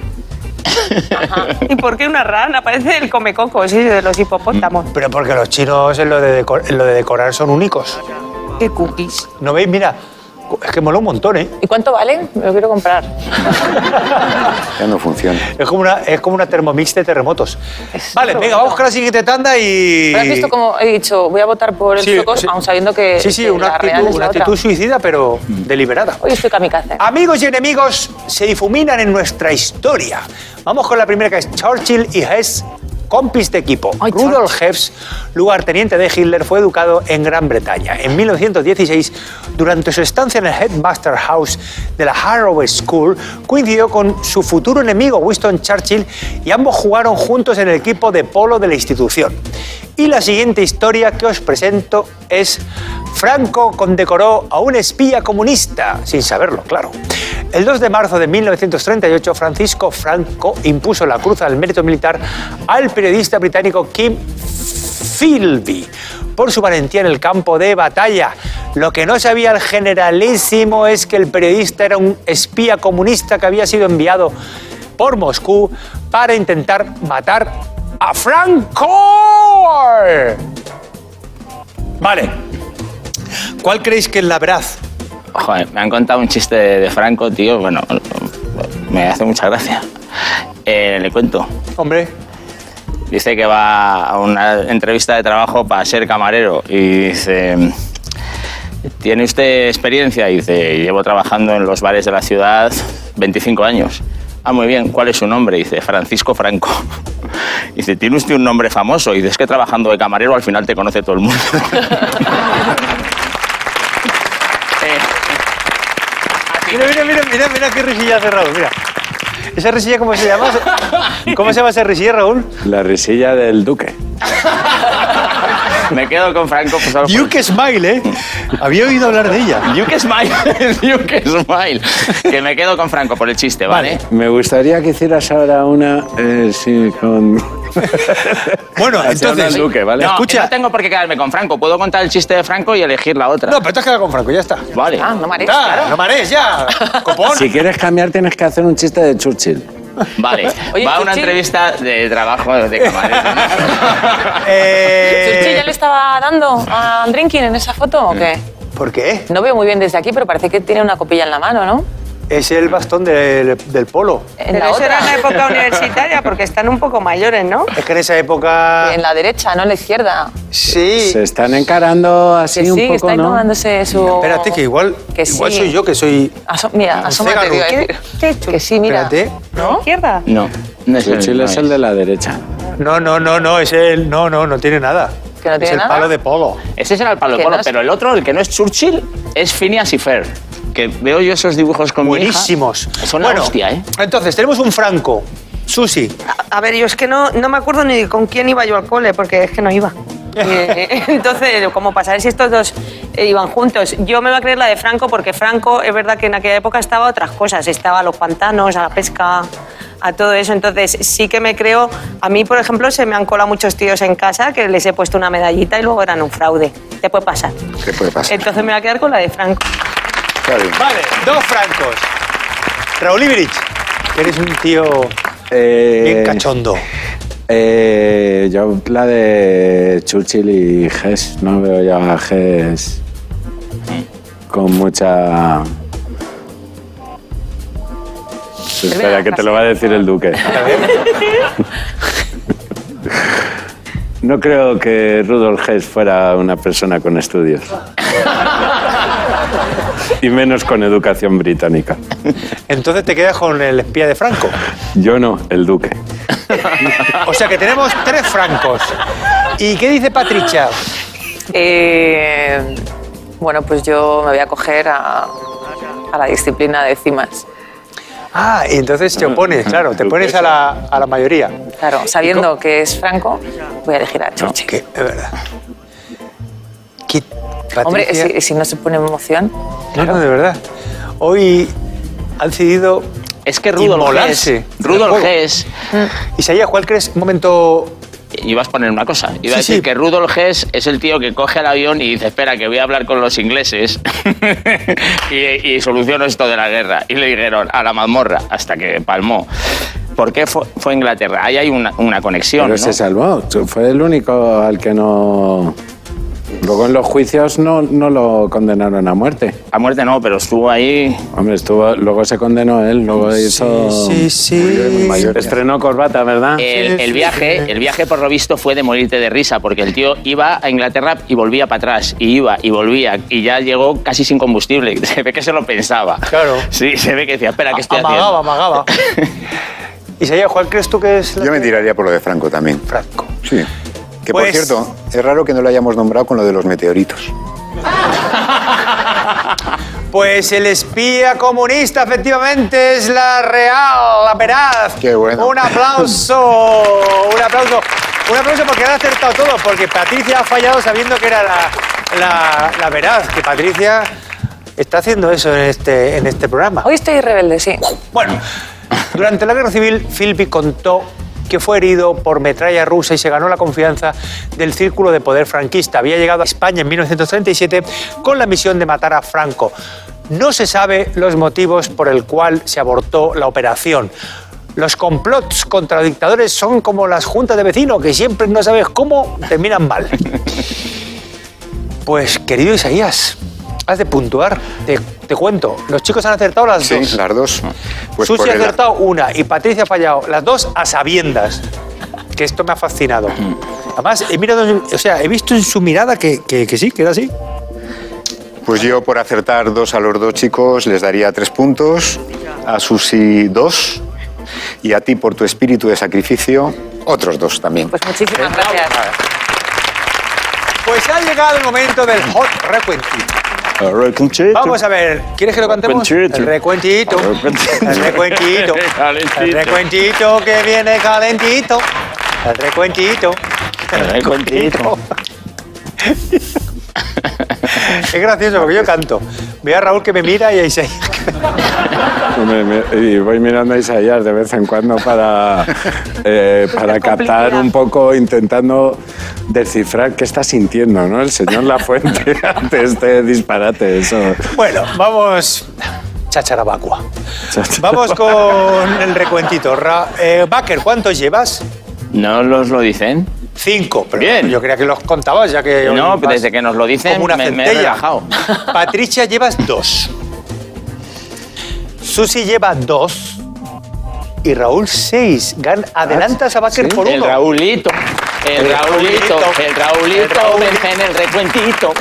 ¿Y por qué una rana? Parece el comecocos, sí, de los hipopótamos. Pero porque los chinos en lo de decorar son únicos. Qué cookies. ¿No veis? Mira, es que mola un montón, ¿eh? ¿Y cuánto valen? Me lo quiero comprar. Ya no funciona. Es como una Thermomix de terremotos. Vale, venga, vamos con la siguiente tanda y... ¿Pero has visto cómo he dicho, voy a votar por el sueco, aun sabiendo que, Sí, que una la real es la actitud otra? suicida, pero deliberada. Hoy estoy kamikaze. Amigos y enemigos se difuminan en nuestra historia. Vamos con la primera, que es Churchill y Hess, compis de equipo. Ay, Rudolf Hess, lugarteniente de Hitler, fue educado en Gran Bretaña. En 1916, durante su estancia en el Headmaster House de la Harrow School, coincidió con su futuro enemigo Winston Churchill y ambos jugaron juntos en el equipo de polo de la institución. Y la siguiente historia que os presento es: Franco condecoró a un espía comunista, sin saberlo, claro. El 2 de marzo de 1938, Francisco Franco impuso la Cruz al Mérito Militar al periodista británico Kim Philby por su valentía en el campo de batalla. Lo que no sabía el generalísimo es que el periodista era un espía comunista que había sido enviado por Moscú para intentar matar a Franco. Vale. ¿Cuál creéis que es la veraz? Joder, me han contado un chiste de Franco, tío. Bueno, me hace mucha gracia. Le cuento. Hombre. Dice que va a una entrevista de trabajo para ser camarero y dice: ¿tiene usted experiencia? Y dice: llevo trabajando en los bares de la ciudad 25 años. Ah, muy bien. ¿Cuál es su nombre? Dice: Francisco Franco. Dice: ¿tiene usted un nombre famoso? Y dice: es que trabajando de camarero al final te conoce todo el mundo. Mira qué risilla hace Raúl, mira. ¿Esa risilla cómo se llama? ¿Cómo se llama esa risilla, Raúl? La risilla del duque. Me quedo con Franco. Pues, Duke Smile, ¿eh? Había oído hablar de ella. Duke Smile. Duke Smile. Que me quedo con Franco por el chiste, ¿vale? Me gustaría que hicieras ahora una... sí, con... Bueno, entonces... Duque, ¿vale? No, Escucha. no tengo por qué quedarme con Franco. Puedo contar el chiste de Franco y elegir la otra. No, pero te has quedado con Franco, ya está. Vale. Ah, no marees, Ya, claro. no marees, ya. Copón. Si quieres cambiar, tienes que hacer un chiste de Churchill. Vale. Oye, Va a una Churchill. entrevista de trabajo de camarero. ¿Churchill ya le estaba dando a drinking en esa foto o qué? ¿Por qué? No veo muy bien desde aquí, pero parece que tiene una copilla en la mano, ¿no? Es el bastón del polo. En Pero la eso otra. era en la época universitaria, porque están un poco mayores, ¿no? Es que en esa época... En la derecha, no en la izquierda. Sí. Se están encarando así Que un sí, que poco, está ¿no? tomándose su... Espérate, que igual Que soy sí. yo, que soy... Mira, un asómate, cégano. te iba a decir. ¿Qué he hecho? Que sí, mira. Espérate. ¿No? ¿Izquierda? No, no es Churchill es el de la derecha. No, es el... No tiene nada. ¿Que no es tiene el nada? palo de polo. Ese será el palo de Que polo, no es- pero el otro, el que no es Churchill, es Phineas y Ferb. Que veo yo esos dibujos con Buenísimos. mi hija. Son una hostia, ¿eh? Entonces, tenemos un Franco. Susi. A ver, yo es que no me acuerdo ni con quién iba yo al cole, porque es que no iba. Entonces, como para saber si estos dos iban juntos. Yo me voy a creer la de Franco, porque Franco, es verdad que en aquella época estaba a otras cosas. Estaba a los pantanos, a la pesca, a todo eso. Entonces, sí que me creo... A mí, por ejemplo, se me han colado muchos tíos en casa que les he puesto una medallita y luego eran un fraude. Te puede pasar. ¿Qué puede pasar? Entonces me voy a quedar con la de Franco. Está bien. Vale, dos Francos. Raúl Ibrich, que eres un tío bien cachondo. Yo la de Churchill y Hess. No veo ya a Hess con mucha... Espera, que te lo va a decir el duque. No creo que Rudolf Hess fuera una persona con estudios. Y menos con educación británica. Entonces te quedas con el espía de Franco. Yo no, el duque. O sea que tenemos tres Francos. ¿Y qué dice Patricia? Bueno, pues yo me voy a coger a la disciplina de cimas. Ah, y entonces te opones, claro, te pones a la mayoría. Claro, sabiendo que es Franco, voy a elegir a Churchill. Que, es verdad. ¿Qué, Patricia? Hombre, si no se pone en emoción. No, de verdad. Hoy han decidido Es que Rudolf inmolarse Hess... en el Rudolf juego. Hess... Isaías, ¿cuál crees? Un momento... Ibas a poner una cosa. Iba a Sí, decir sí. que Rudolf Hess es el tío que coge el avión y dice, espera, que voy a hablar con los ingleses y soluciono esto de la guerra. Y le dijeron a la mazmorra, hasta que palmó. ¿Por qué fue a Inglaterra? Ahí hay una conexión, Pero ¿no? se salvó. Fue el único al que no... Luego en los juicios no lo condenaron a muerte. A muerte no, pero estuvo ahí... Hombre, luego se condenó él, luego hizo... Sí. Estrenó corbata, ¿verdad? El viaje, por lo visto, fue de morirte de risa, porque el tío iba a Inglaterra y volvía para atrás, y iba y volvía, y ya llegó casi sin combustible. Se ve que se lo pensaba. Claro. Sí, se ve que decía, espera, ¿qué estoy Amagaba. Isaías, ¿cuál crees tú que es la Yo me que- tiraría por lo de Franco también. Franco. Sí. Que Pues- por cierto, es raro que no lo hayamos nombrado con lo de los meteoritos. Pues el espía comunista, efectivamente, es la real, la veraz. Qué bueno. Un aplauso, un aplauso. Un aplauso porque han acertado todo, porque Patricia ha fallado sabiendo que era la veraz, que Patricia está haciendo eso en este programa. Hoy estoy rebelde, sí. Bueno, durante la guerra civil, Philby contó que fue herido por metralla rusa y se ganó la confianza del círculo de poder franquista. Había llegado a España en 1937 con la misión de matar a Franco. No se sabe los motivos por el cual se abortó la operación. Los complots contra los dictadores son como las juntas de vecinos, que siempre no sabes cómo terminan mal. Pues, querido Isaías, has de puntuar. Te cuento, los chicos han acertado las Sí, dos. las dos. Pues Susi por ha el- acertado una y Patricia ha fallado. Las dos a sabiendas. Que esto me ha fascinado. Además, he visto en su mirada que sí, que era así. Pues yo, por acertar dos a los dos chicos, les daría 3 puntos. A Susi 2. Y a ti, por tu espíritu de sacrificio, otros 2 también. Pues muchísimas gracias. Pues ha llegado el momento del hot recuentito. Vamos a ver, ¿quieres que lo cantemos? Recuentito. El recuentito. El recuentito. Calentito. El recuentito que viene calentito. El recuentito. El recuentito. Es gracioso porque yo canto. Veo a Raúl que me mira y a Isaías que Y voy mirando a Isaías de vez en cuando para captar un poco, intentando descifrar qué está sintiendo, ¿no? El señor Lafuente ante este disparate. Eso. Bueno, vamos. Chacharabacua. Vamos con el recuentito. Baker, ¿cuántos llevas? ¿No los lo dicen? 5. Pero Bien. yo creía que los contabas ya que. hoy No, vas desde que nos lo dicen como una me he centella. relajado. Patricia, llevas 2. Susi lleva 2 y Raúl 6. Adelantas a Baker por 1. El Raulito vence en el recuentito.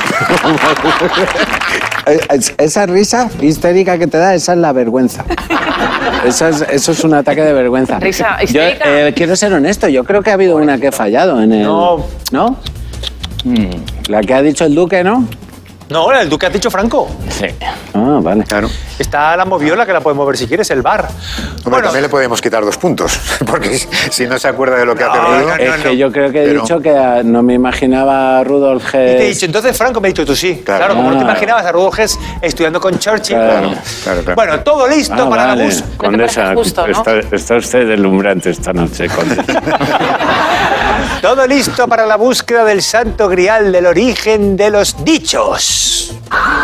Esa risa histérica que te da, esa es la vergüenza. Eso es un ataque de vergüenza. Risa Yo histérica. quiero ser honesto, yo creo que ha habido una que he fallado en el... No. ¿No? La que ha dicho el Duque, ¿no? No, el Duque ha dicho Franco. Sí. Ah, vale. Claro. Está la moviola que la podemos ver si quieres, el bar. Hombre, también le podemos quitar 2 puntos, porque si no se acuerda de lo que ha perdido... no, Es que yo creo que he Pero- dicho que no me imaginaba a Rudolf Y te he Hess. dicho, entonces Franco, me ha dicho tú sí. Claro. Claro, como no te Ah. imaginabas a Rudolf Hess estudiando con Churchill. Claro. Claro. Bueno, todo listo Ah, para vale. la bus. Condesa, justo, ¿no? está usted deslumbrante esta noche, Condesa. Todo listo para la búsqueda del santo grial del origen de los dichos.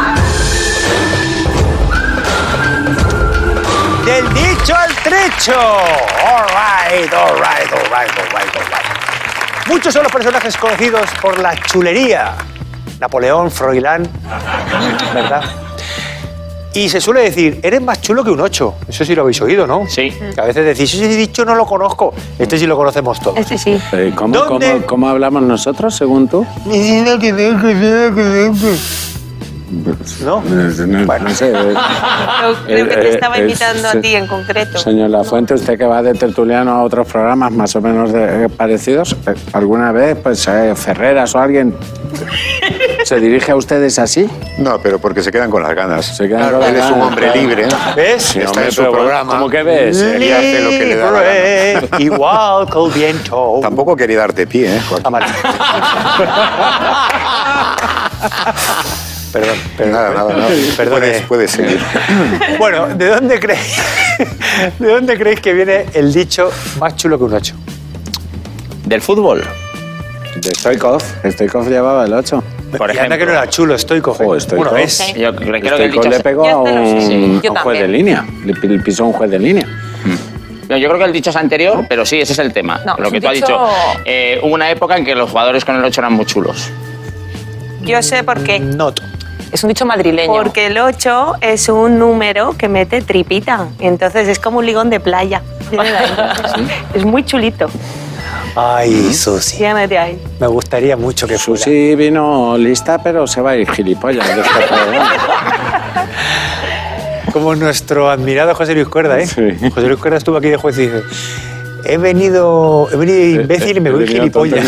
Del dicho al trecho. All right. Muchos son los personajes conocidos por la chulería. Napoleón, Froilán, ¿verdad? Y se suele decir, eres más chulo que un 8. Eso sí lo habéis oído, ¿no? Sí. Que a veces decís, ese dicho no lo conozco. Este sí lo conocemos todos. Este sí. ¿Dónde? ¿Cómo hablamos nosotros, según tú? ¿No? No sé. Creo que te estaba sí. invitando a ti en concreto. Señor Lafuente, usted que va de tertuliano a otros programas más o menos parecidos, ¿alguna vez, pues, Ferreras o alguien se dirige a ustedes así? No, pero porque se quedan con las ganas. Se quedan con las Él es un ganas, hombre claro. libre. ¿Ves? Sí, Está hombre, en su pero programa. ¿cómo que ves? Y hace lo que le da la gana. Libre, igual que el viento. Tampoco quería darte pie, ¿eh, Joaquín? Ah, vale. Perdón. Nada. Perdone. Puedes seguir. Bueno, ¿de dónde creéis que viene el dicho más chulo que un 8? Del fútbol. De Stoikov. Stoikov llevaba el 8. Por Y anda que no ejemplo. era chulo, Stoikov. Joder, Stoikov. Bueno, es. Sí. Yo creo que el Stoikov dicho... le pegó Yo a te lo sé, sí. un Yo juez de también. línea. Le pisó a un juez de línea. No, yo creo que el dicho es anterior, pero sí, ese es el tema. No, lo es que un tú has dicho- dicho. Hubo una época en que los jugadores con el 8 eran muy chulos. Yo sé por qué. Not. Es un dicho madrileño. Porque el 8 es un número que mete tripita. Entonces es como un ligón de playa. Viene de ahí. Es muy chulito. Ay, Susi. Viene de ahí. Me gustaría mucho que fuera. Susi vino lista, pero se va a ir gilipollas de este programa. Como nuestro admirado José Luis Cuerda, ¿eh? Sí. José Luis Cuerda estuvo aquí de juez y dice: he venido imbécil y me voy gilipollas.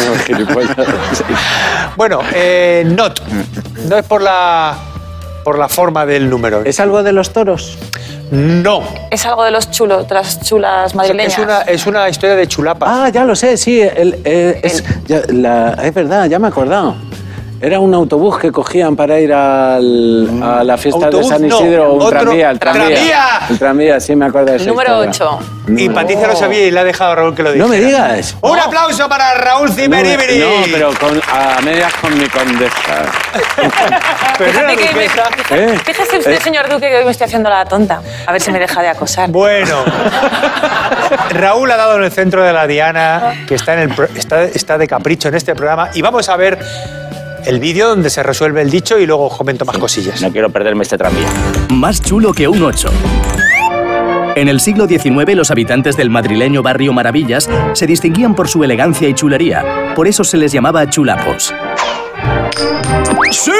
Bueno, not. No es por la forma del número. ¿Es algo de los toros? No. Es algo de los chulos, de las chulas madrileñas. Es una historia de chulapas. Ah, ya lo sé, sí. Es verdad, ya me he acordado. Era un autobús que cogían para ir a la fiesta Autobús, de San no, Isidro, o un otro- tranvía, el tranvía. ¡Tranvía! El tranvía, sí me acuerdo de esa Número historia. 8. Y Patricia lo sabía y le ha dejado a Raúl que lo dijera. No me digas. ¡Un aplauso para Raúl Cimeribiri! No, pero a medias con mi condesa. Pero no era Fíjate que duquesa. Fíjese usted, señor Duque, que hoy me estoy haciendo la tonta. A ver si me deja de acosar. Bueno, Raúl ha dado en el centro de la diana, que está de capricho en este programa, y vamos a ver el vídeo donde se resuelve el dicho y luego os comento más cosillas. No quiero perderme este tranvía. Más chulo que un 8. En el siglo XIX, los habitantes del madrileño barrio Maravillas se distinguían por su elegancia y chulería. Por eso se les llamaba chulapos. ¡Sí!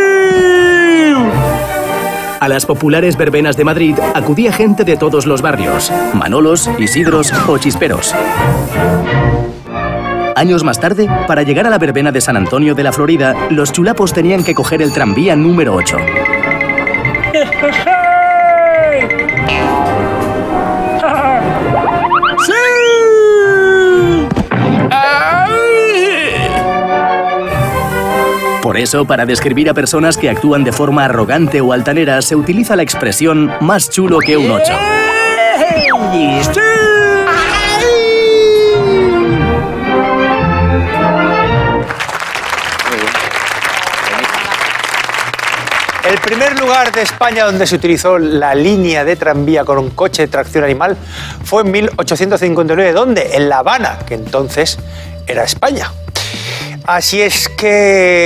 A las populares verbenas de Madrid acudía gente de todos los barrios: Manolos, Isidros o Chisperos. Años más tarde, para llegar a la verbena de San Antonio de la Florida, los chulapos tenían que coger el tranvía número 8. Por eso, para describir a personas que actúan de forma arrogante o altanera, se utiliza la expresión más chulo que un 8. El primer lugar de España donde se utilizó la línea de tranvía con un coche de tracción animal fue en 1859. ¿Dónde? En La Habana, que entonces era España. Así es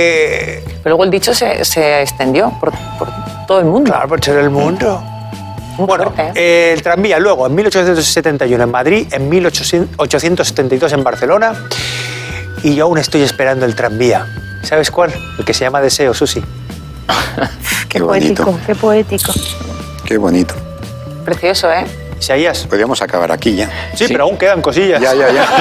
que... Pero luego el dicho se extendió por todo el mundo. Claro, por ser el mundo. Bueno, el tranvía luego en 1871 en Madrid, en 1872 en Barcelona, y yo aún estoy esperando el tranvía. ¿Sabes cuál? El que se llama Deseo, Susi. Qué bonito. poético, qué poético. Qué bonito. Precioso, ¿eh? Isaías. Podríamos acabar aquí ya. Sí, pero aún quedan cosillas. Ya.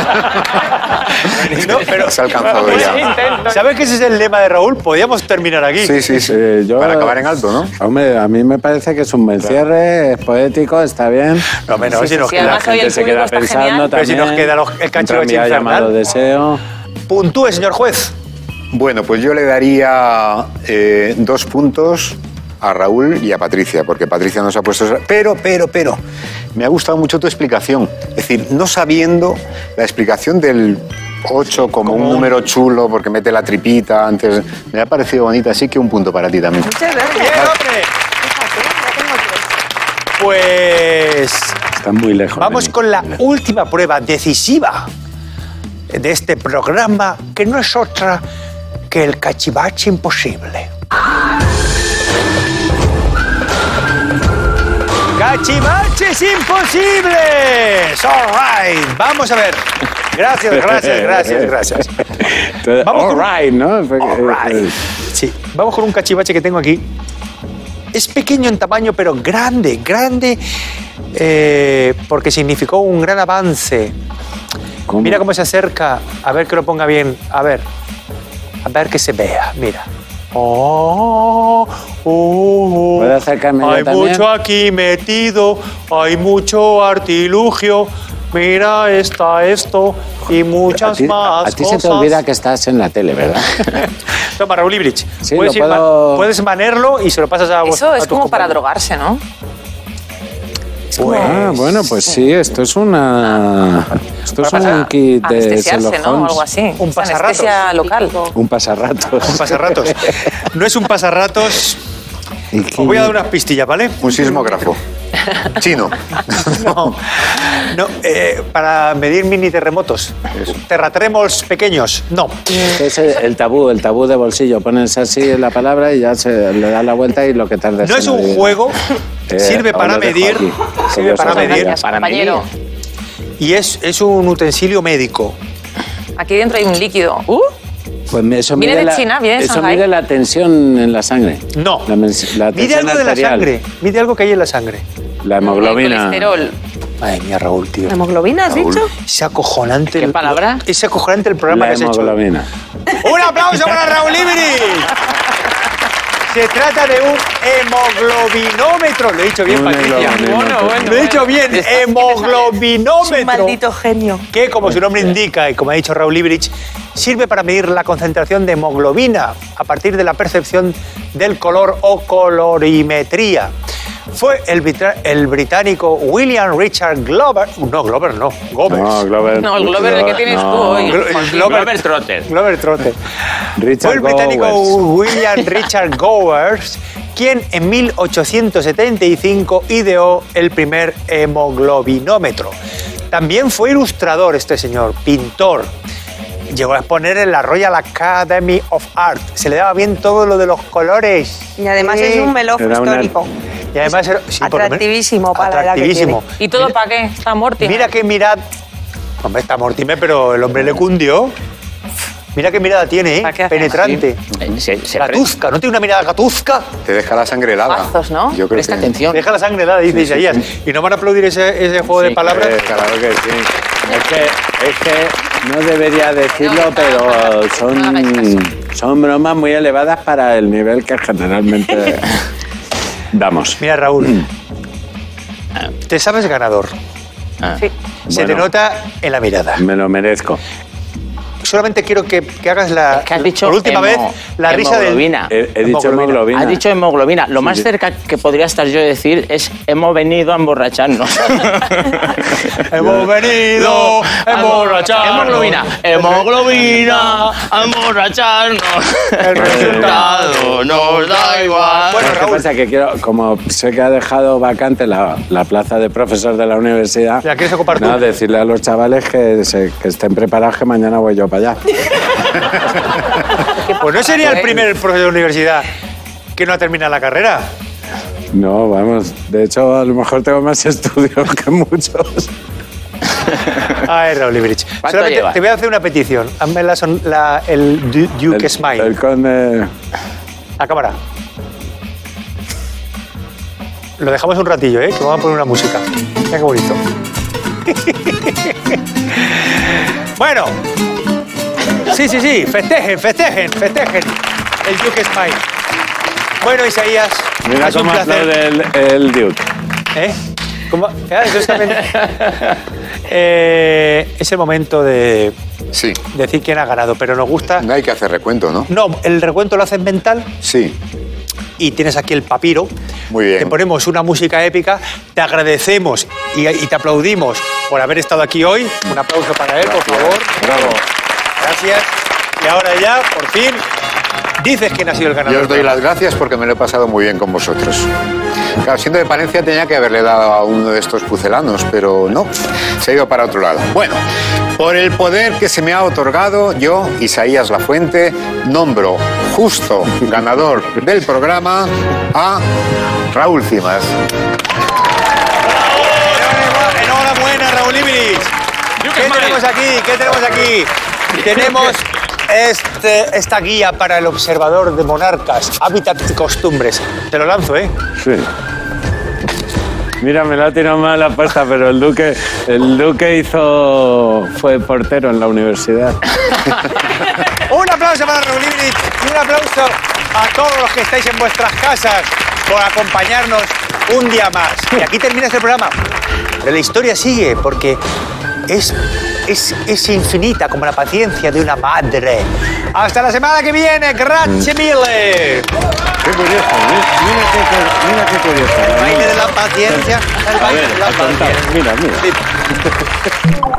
No, pero Se ha alcanzado ya. ¿sabes que ese es el lema de Raúl? Podríamos terminar aquí. Sí. Yo- Para acabar en alto, ¿no? Hombre, a mí me parece que es un buen cierre, es poético, está bien. No, menos, Sí, si sí, nos sí, queda. La además hoy gente el se público queda está pensando genial. Pero si también. nos queda el cachivache Un tranvía infernal. llamado Deseo. Puntúe, señor juez. Bueno, pues yo le daría 2 puntos a Raúl y a Patricia, porque Patricia nos ha puesto... Pero, me ha gustado mucho tu explicación. Es decir, no sabiendo la explicación del 8 como un número chulo, porque mete la tripita antes... Me ha parecido bonita, así que un punto para ti también. Muchas gracias. ¡Bien, hombre! Fíjate, ya tengo 3. Pues Está muy lejos. vamos de mí. con la última prueba decisiva de este programa, que no es otra que el cachivache imposible. ¡Cachivaches imposibles! All right. Vamos a ver. Gracias. Entonces, Vamos all con- right, ¿no? All right. Sí, vamos con un cachivache que tengo aquí. Es pequeño en tamaño, pero grande, porque significó un gran avance. ¿Cómo? Mira cómo se acerca. A ver que lo ponga bien. A ver que se vea. Mira. ¿Puedo acercarme yo Hay también? mucho aquí metido, hay mucho artilugio. Mira, está esto y muchas más a ti cosas. se te olvida que estás en la tele, ¿verdad? Toma, Raúl Ibrich. Sí, puedes, lo puedo- puedes manerlo y se lo pasas a vos. Eso a es tus como para compañeros. drogarse, ¿no? Ah, bueno, pues sí, esto es una... Esto es un kit de Anestesiarse, Sherlock ¿no? O Holmes. algo así. Un Es pasarratos. anestesia local. Un pasarratos. Un pasarratos. No es un pasarratos. ¿Y qué? Os voy a dar unas pistillas, ¿vale? Un sismógrafo. Chino. No, para medir mini terremotos. Terratremos pequeños. No. Es el tabú de bolsillo. Pones así la palabra y ya se le das la vuelta y lo que tardes. No es en un adivinar. juego. Sirve os para lo dejo medir. aquí, Sirve porque para os medir. olvidáis. Para Compañero, Y es un utensilio médico. aquí dentro hay un líquido. Pues eso Viene mide de China, viene de eso Shanghái. mide la tensión en la sangre. No. La Mide tensión algo de la arterial. sangre. Mide algo que hay en la sangre. La El hemoglobina. colesterol. Ay, mía, Raúl, tío. ¿La hemoglobina has Raúl. dicho? Es acojonante. ¿Qué palabra? Es acojonante el programa La que has hecho. hemoglobina. ¡Un aplauso para Raúl Ibrich! Se trata de un hemoglobinómetro. Lo he dicho bien, Un Patricia. hemoglobinómetro. Lo he dicho bien, Es un hemoglobinómetro. maldito genio. Que, como su nombre indica y como ha dicho Raúl Ibrich, sirve para medir la concentración de hemoglobina a partir de la percepción del color o colorimetría. Fue el británico William Richard Glover. No, Glover no. Gobers. No, Glover. No, el Glover el que tienes tú hoy. Glover Trotter. Glover Trotter. Richard Fue el británico Gowers. William Richard Gowers quien en 1875 ideó el primer hemoglobinómetro. También fue ilustrador este señor, pintor. Llegó a exponer en la Royal Academy of Art. Se le daba bien todo lo de los colores. Y además es un melofo Era una- histórico. Y además era, sí, por lo menos- Atractivísimo para la edad que atractivísimo. ¿Y todo para qué? Está Morty. Mira qué mirada. Hombre, está Mortimer, pero el hombre le cundió. Mira qué mirada tiene, ¿Para qué hace? penetrante. Se Gatuzca, ¿no tiene una mirada gatuzca? Te deja la sangre helada. Mazos, ¿no? Yo creo Presta que... atención. Deja la sangre helada, dice Isaías. ¿Y no van a aplaudir ese juego de Sí, palabras? Claro que sí. Es que no debería decirlo, pero son bromas muy elevadas para el nivel que generalmente damos. Mira, Raúl, te sabes ganador. Sí. Se te Bueno. nota en la mirada. Me lo merezco. Solamente quiero que hagas la, que has dicho por última vez la risa del... hemoglobina. He dicho hemoglobina. Ha dicho hemoglobina. Lo más sí. cerca que podría estar yo de decir es hemos venido a emborracharnos. Hemos venido a emborracharnos. Hemoglobina. Hemoglobina. A emborracharnos. El resultado nos da igual. Bueno, ¿Qué Raúl, pasa? Que quiero, como sé que ha dejado vacante la plaza de profesor de la universidad, ¿La quieres ocupar tú? no, decirle a los chavales que estén preparados, que mañana voy yo para allá. pues no sería el primer profesor de universidad que no ha terminado la carrera. No, vamos. De hecho, a lo mejor tengo más estudios que muchos. Ay, Raúl Ibrich. ¿Cuánto Solamente lleva? te voy a hacer una petición. Hazme el Duke Smile. El conde... A cámara. Lo dejamos un ratillo, ¿eh? Que vamos a poner una música. Mira qué bonito. Bueno. Sí. Festejen. El Duke Smile. Bueno, Isaías. Mira es un cómo placer. aplaude el Duke. ¿Eh? ¿Cómo? Eso es también... es el momento de Sí. decir quién ha ganado, pero nos gusta... No hay que hacer recuento, ¿no? No, el recuento lo haces mental Sí. y tienes aquí el papiro. Muy bien. Te ponemos una música épica, te agradecemos y te aplaudimos por haber estado aquí hoy. Un aplauso para él, por favor. Bravo. Gracias. Y ahora ya, por fin, dices quién ha sido el ganador. Yo os doy las gracias porque me lo he pasado muy bien con vosotros. Claro, siendo de Palencia tenía que haberle dado a uno de estos pucelanos, pero no, se ha ido para otro lado. Bueno, por el poder que se me ha otorgado, yo, Isaías Lafuente, nombro justo ganador del programa a Raúl Cimas. Enhorabuena, Raúl Ibrich. ¿Qué tenemos aquí? Tenemos esta guía para el observador de monarcas, hábitat y costumbres. Te lo lanzo, ¿eh? Sí. Mira, me la ha tirado mal la apuesta, pero el Duque fue portero en la universidad. Un aplauso para Raúl Ibrich y un aplauso a todos los que estáis en vuestras casas por acompañarnos un día más. Y aquí termina este programa. Pero la historia sigue porque es infinita como la paciencia de una madre. Hasta la semana que viene. Grazie mille. Qué curioso, mira qué curioso. El baile de la paciencia. El baile de la paciencia. Mira.